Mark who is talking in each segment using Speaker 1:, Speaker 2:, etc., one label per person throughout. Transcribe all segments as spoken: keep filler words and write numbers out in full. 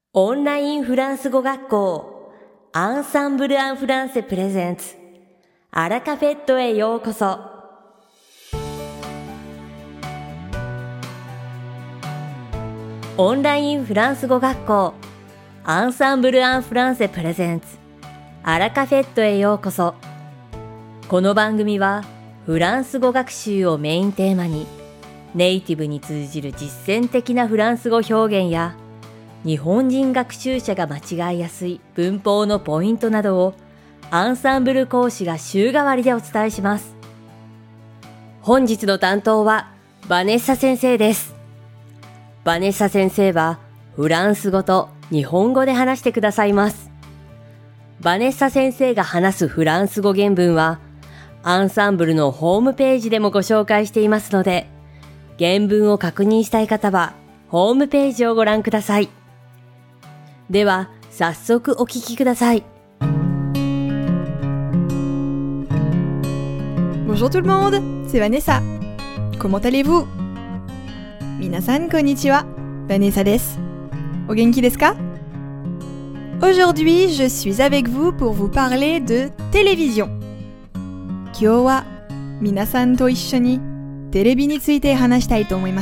Speaker 1: オンラインフランス語学校アンサンブル・アン・フランセプレゼンツアラカフェットへようこそ。オンラインフランス語学校アンサンブル・アン・フランセプレゼンツアラカフェットへようこそ。この番組はフランス語学習をメインテーマにネイティブに通じる実践的なフランス語表現や日本人学習者が間違いやすい文法のポイントなどをアンサンブル講師が週替わりでお伝えします。本日の担当はバネッサ先生です。バネッサ先生はフランス語と日本語で話してくださいます。バネッサ先生が話すフランス語原文はアンサンブルのホームページでもご紹介していますので、原文を確認したい方はホームページをご覧ください。では早速お聞きください。
Speaker 2: Bonjour tout le monde, c'est Vanessa. Comment allez-vous? 皆さんこんにちは、Vanessa です。お元気ですか? Aujourd'hui, je suis avec vous pour vous parler de télévision. 今日は皆さんと一緒にテレビについて話したいと思います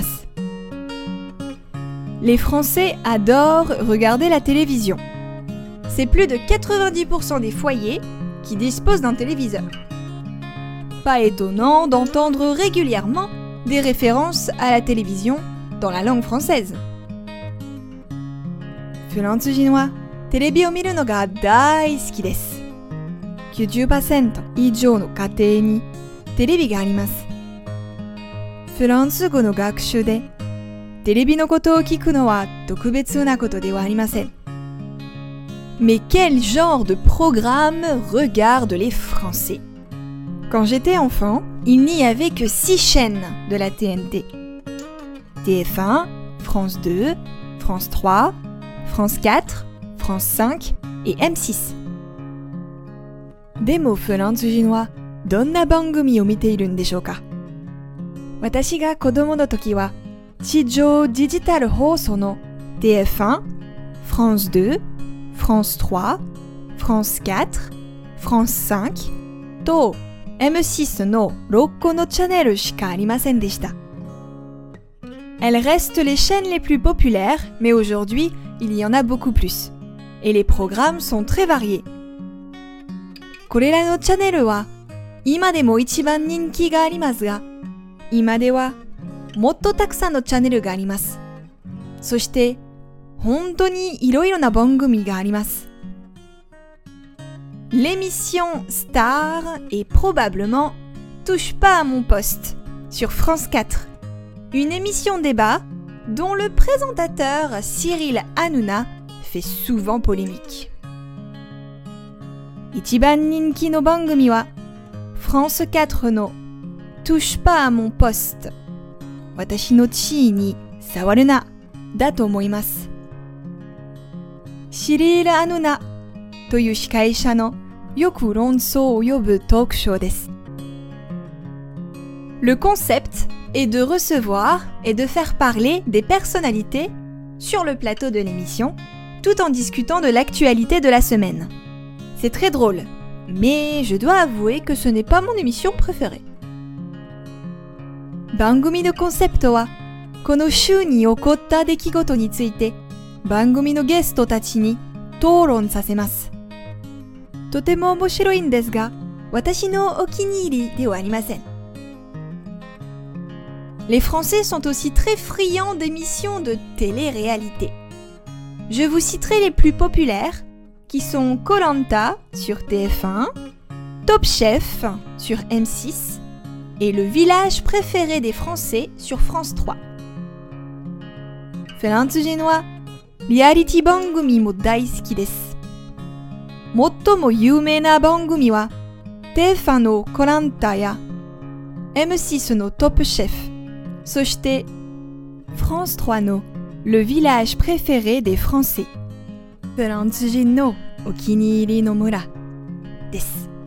Speaker 2: 。Les Français adorent regarder la télévision. C'est plus de quatre-vingt-dix pour cent des foyers qui disposent d'un téléviseur. Pas étonnant d'entendre régulièrement des références à la télévision dans la langue française. フランス人はテレビを見るのが大好きです。きゅうじゅっパーセント以上の家庭にテレビがあります。フランス語の学習でテレビのことを聞くのは特別なことではありません。Mais quel genre de programme regardent les Français? Quand j'étais enfant, il n'y avait que six chaînes de la T N T. T F un, France deux, France trois, France quatre, France cinq et M six. でもフランス人はどんな番組を見ているんでしょうか？私が子供の時は地上デジタル放送の T F un, France deux, France trois, France quatre, France cinq と M six のろっこのチャンネルしかありませんでした。Elles restent les chaînes les plus populaires, mais aujourd'hui, il y en a beaucoup plus. Et les programmes sont très variés. これらのチャンネルは今でも一番人気がありますが、今ではもっとたくさんのチャンネルがあります。そして本当にいろいろな番組があります。L'émission Star est probablement Touche pas à mon poste sur France quatre. Une émission débat dont le présentateur Cyril Hanouna fait souvent polémique. 一番人気の番組は France quatre の Touche pas à mon poste 私の地位に触るなだと思います。シリール・アヌナという司会者のよく論争を呼ぶトークショーです。Le concept est de recevoir et de faire parler des personnalités sur le plateau de l'émission tout en discutant de l'actualité de la semaine. C'est très drôle, mais je dois avouer que ce n'est pas mon émission préférée. 番組のコンセプトは、この週に起こった出来事について番組のゲストたちに討論させます。とても面白いんですが、私のお気に入りではありません。Les Français sont aussi très friands d'émissions de télé-réalité. Je vous citerai les plus populaires, qui sont Koh Lanta sur T F un, Top Chef sur M six et Le village préféré des Français sur France trois. フランス人はリアリティ番組も大好きです。最も有名な番組は T F un のコランタや M six のトップシェフ、そして France trois の Le village préféré des Français。フランス人のお気に入りの村です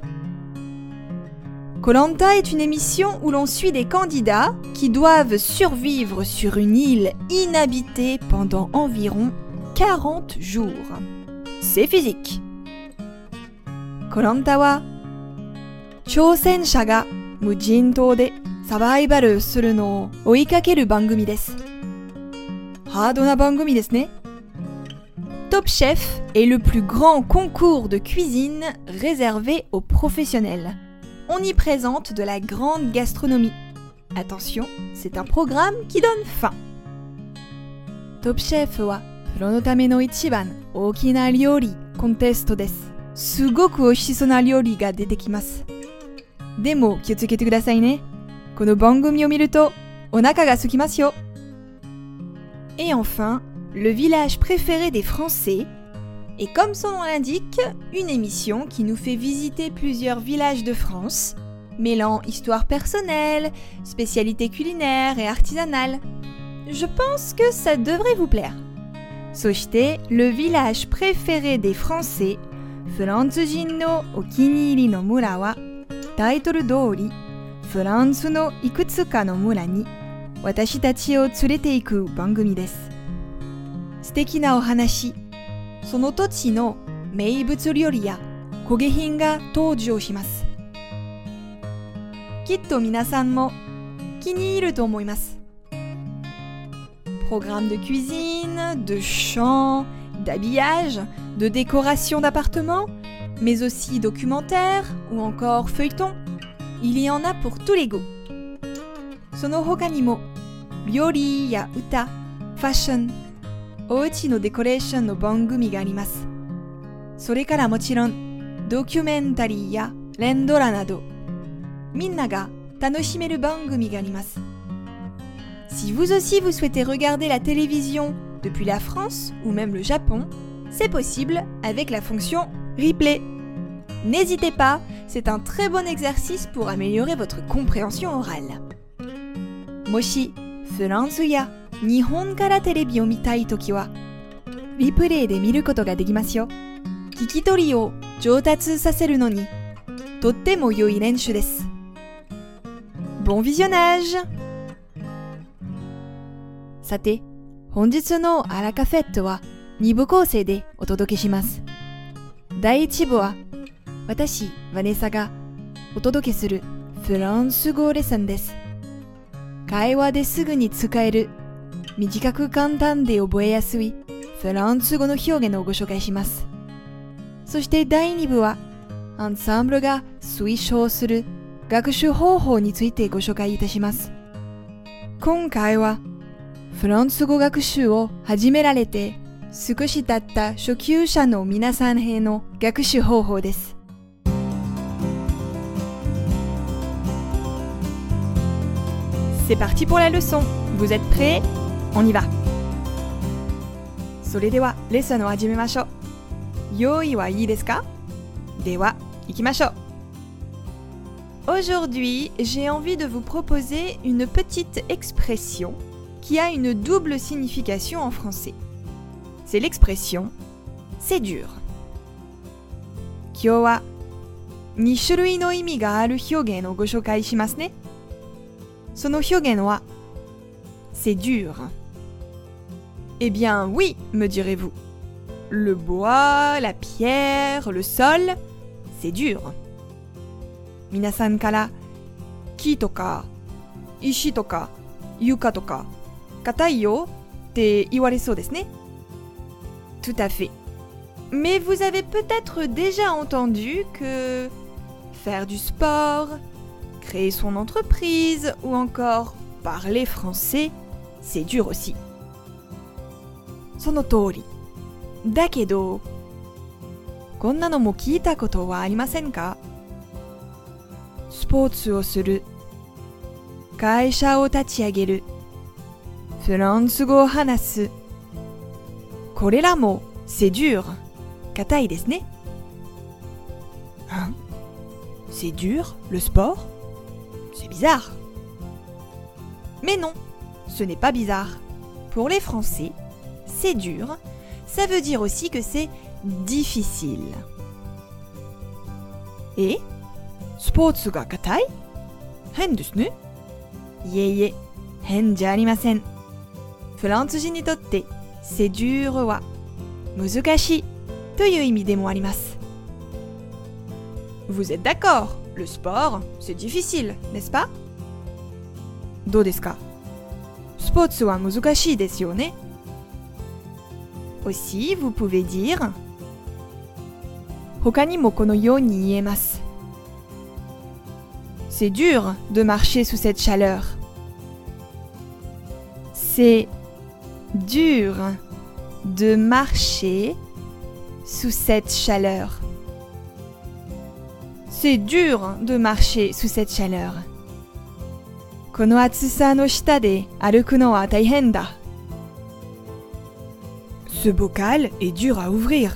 Speaker 2: 。Koh Lanta est une émission où l'on suit des candidats qui doivent survivre sur une île inhabitée pendant environ quarante jours. C'est physique. コロンタは挑戦者が無人島でサバイバルするのを追いかける番組です。ハードな番組ですね。Top Chef est le plus grand concours de cuisine réservé aux professionnels. On y présente de la grande gastronomie. Attention, c'est un programme qui donne faim. Top Chef はプロのための一番大きな料理コンテストです。すごく美味しそうな料理が出てきます。でも気をつけてくださいね。この番組を見るとお腹が空きますよ。Et enfin, le village préféré des Français est, comme son nom l'indique, une émission qui nous fait visiter plusieurs villages de France, mêlant histoire personnelle, spécialités culinaires et artisanales. Je pense que ça devrait vous plaire. そしてle village préféré des Français, フランス人のお気に入りの村は、タイトル通り、フランスのいくつかの村に私たちを連れて行く番組です。素敵なお話、その土地の名物料理や工芸品が登場します。きっと皆さんも気に入ると思います。Programme de cuisine, de chant, d'habillage, de décoration d'appartement, mais aussi documentaire ou encore feuilleton. Il y en a pour tous les goûts. その他にも料理や歌、ファッション、おうちのデコレーションの番組があります。それからもちろんドキュメンタリーや連ドラなどみんなが楽しめる番組があります。Si vous aussi vous souhaitez regarder la télévision depuis la France ou même le Japon, c'est possible avec la fonction replay. N'hésitez pas, c'est un très bon exercice pour améliorer votre compréhension orale. もしフランスや日本からテレビを見たいときは、リプレイで見ることができますよ。聞き取りを上達させるのに、とっても良い練習です。Bon visionnage! さて、本日のアラカフェットはに部構成でお届けします。だいいち部は、私、ヴァネサがお届けするフランス語レッスンです。会話ですぐに使える、短く簡単で覚えやすいフランス語の表現をご紹介します。そしてだいに部は、アンサンブルが推奨する学習方法についてご紹介いたします。今回は、フランス語学習を始められて少し経った初級者の皆さんへの学習方法です。C'est parti pour la leçon. Vous êtes prêts? On y va. それではレッスンを始めましょう。用意はいいですか？では、行きましょう。Aujourd'hui, j'ai envie de vous proposer une petite expression qui a une double signification en français. C'est l'expression « c'est dur ». 今日はに種類の意味がある表現をご紹介しますね。その表現は「c'est dur ». Eh bien oui, me direz-vous. Le bois, la pierre, le sol, c'est dur. 皆さんから木とか石とか床とか硬いよって言われそうですね。Tout à fait. Mais vous avez peut-être déjà entendu que faire du sport, créer son entreprise ou encore parler français, c'est dur aussi. その通り。だけど、こんなのも聞いたことはありませんか？スポーツをする、会社を立ち上げる、フランス語を話す。これらも c'est dur、硬いですね。Hein? C'est dur, le sport? C'est bizarre. Mais non, ce n'est pas bizarre. Pour les Français, c'est dur, ça veut dire aussi que c'est difficile. Et スポーツが硬い？変ですね。いえいえ、変じゃありません。フランス人にとって、c'est durは難しいという意味でもあります。Vous êtes d'accord? Le sport, c'est difficile, n'est-ce pas? どうですか？スポーツは難しいですよね。Aussi, vous pouvez dire 他にもこのように言えます。C'est dur de marcher sous cette chaleur. C'est dur de marcher sous cette chaleur. C'est dur de marcher sous cette chaleur. この暑さの下で歩くのは大変だ。Ce bocal est dur à ouvrir.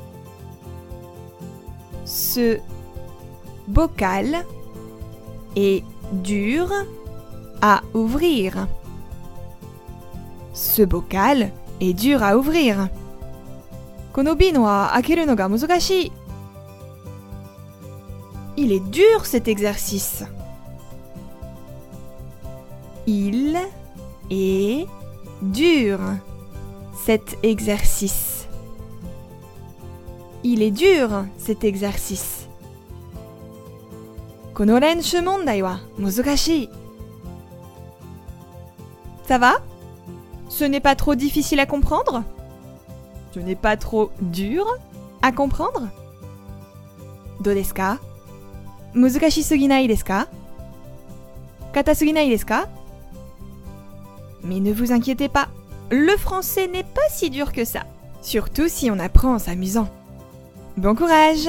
Speaker 2: Ce bocal est dur à ouvrir. Ce bocal est dur à ouvrir. この瓶は開けるのが難しい。Il est dur cet exercice. Il est dur cet exercice. Il est dur cet exercice. この練習問題は難しい。Ça va? Ce n'est pas trop difficile à comprendre? Ce n'est pas trop dur à comprendre? どうですか？難しすぎないですか？硬すぎないですか？ Mais ne vous inquiétez pas, le français n'est pas si dur que ça, surtout si on apprend en s'amusant. Bon courage!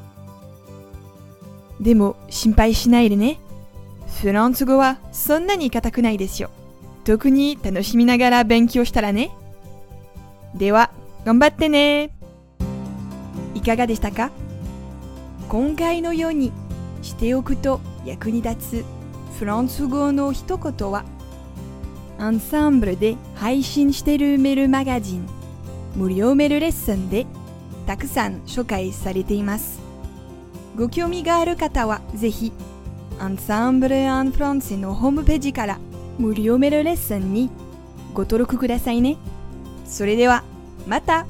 Speaker 2: でも心配しないでね。フランス語はそんなに硬くないですよ。特に楽しみながら勉強したらね。では、頑張ってね。いかがでしたか？今回のようにしておくと役に立つフランス語の一言は、アンサンブルで配信しているメールマガジン、無料メールレッスンでたくさん紹介されています。ご興味がある方はぜひ、アンサンブル・アン・フランセのホームページから無料メールレッスンにご登録くださいね。それでは、また。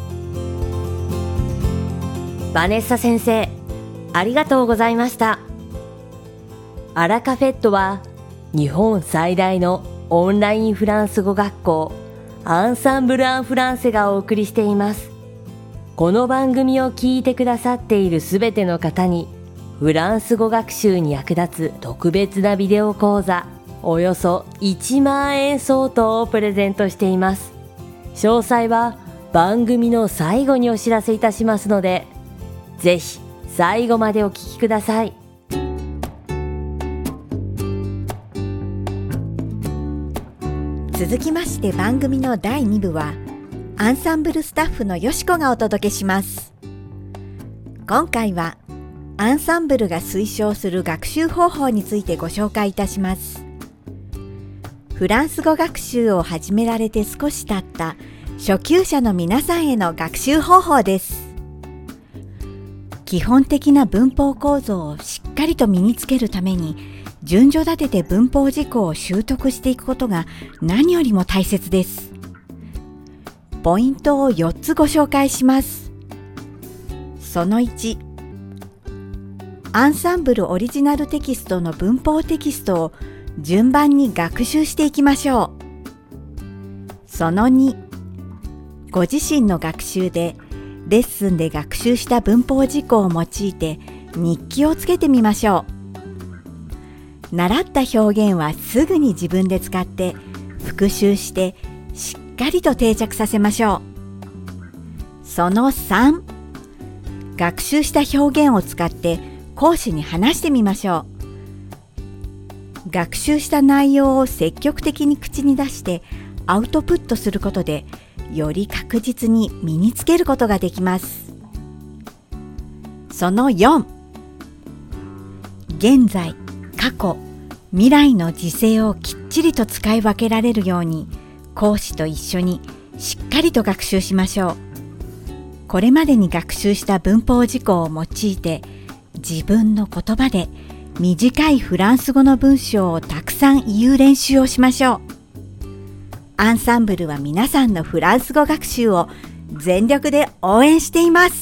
Speaker 1: バネッサ先生、ありがとうございました。アラカフェットは日本最大のオンラインフランス語学校アンサンブル・アン・フランセがお送りしています。この番組を聞いてくださっているすべての方にフランス語学習に役立つ特別なビデオ講座およそいちまんえん相当をプレゼントしています。詳細は番組の最後にお知らせいたしますので、ぜひ最後までお聞きください。
Speaker 3: 続きまして番組のだいに部はアンサンブルスタッフのよしこがお届けします。今回はアンサンブルが推奨する学習方法についてご紹介いたします。フランス語学習を始められて少し経った初級者の皆さんへの学習方法です。基本的な文法構造をしっかりと身につけるために順序立てて文法事項を習得していくことが何よりも大切です。ポイントをよっつご紹介します。そのいち、アンサンブルオリジナルテキストの文法テキストを順番に学習していきましょう。そのに、ご自身の学習でレッスンで学習した文法事項を用いて日記をつけてみましょう。習った表現はすぐに自分で使って復習してしっかりと定着させましょう。そのさん、学習した表現を使って講師に話してみましょう。学習した内容を積極的に口に出してアウトプットすることでより確実に身につけることができます。そのよん、現在、過去、未来の時制をきっちりと使い分けられるように講師と一緒にしっかりと学習しましょう。これまでに学習した文法事項を用いて自分の言葉で短いフランス語の文章をたくさん言う練習をしましょう。アンサンブルは皆さんのフランス語学習を全力で応援しています。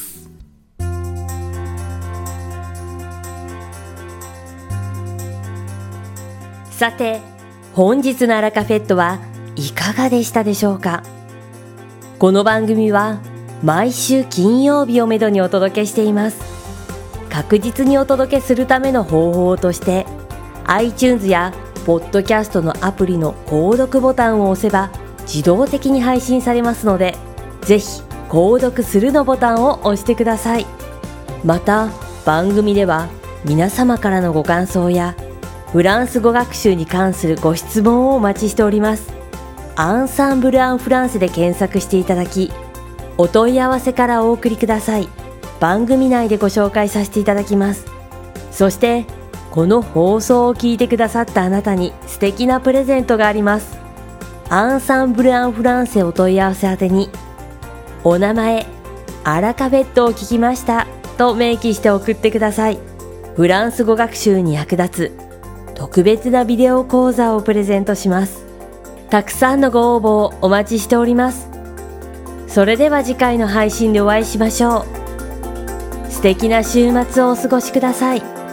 Speaker 1: さて、本日のアラカフェットはいかがでしたでしょうか。この番組は毎週金曜日をめどにお届けしています。確実にお届けするための方法として iTunes やポッドキャストのアプリの購読ボタンを押せば自動的に配信されますので、ぜひ購読するのボタンを押してください。また番組では皆様からのご感想やフランス語学習に関するご質問をお待ちしております。アンサンブル・アン・フランセで検索していただき、お問い合わせからお送りください。番組内でご紹介させていただきます。そしてこの放送を聞いてくださったあなたに素敵なプレゼントがあります。アンサンブル・アン・フランセお問い合わせ宛てに、お名前、アラカフェットを聞きましたと明記して送ってください。フランス語学習に役立つ特別なビデオ講座をプレゼントします。たくさんのご応募をお待ちしております。それでは次回の配信でお会いしましょう。素敵な週末をお過ごしください。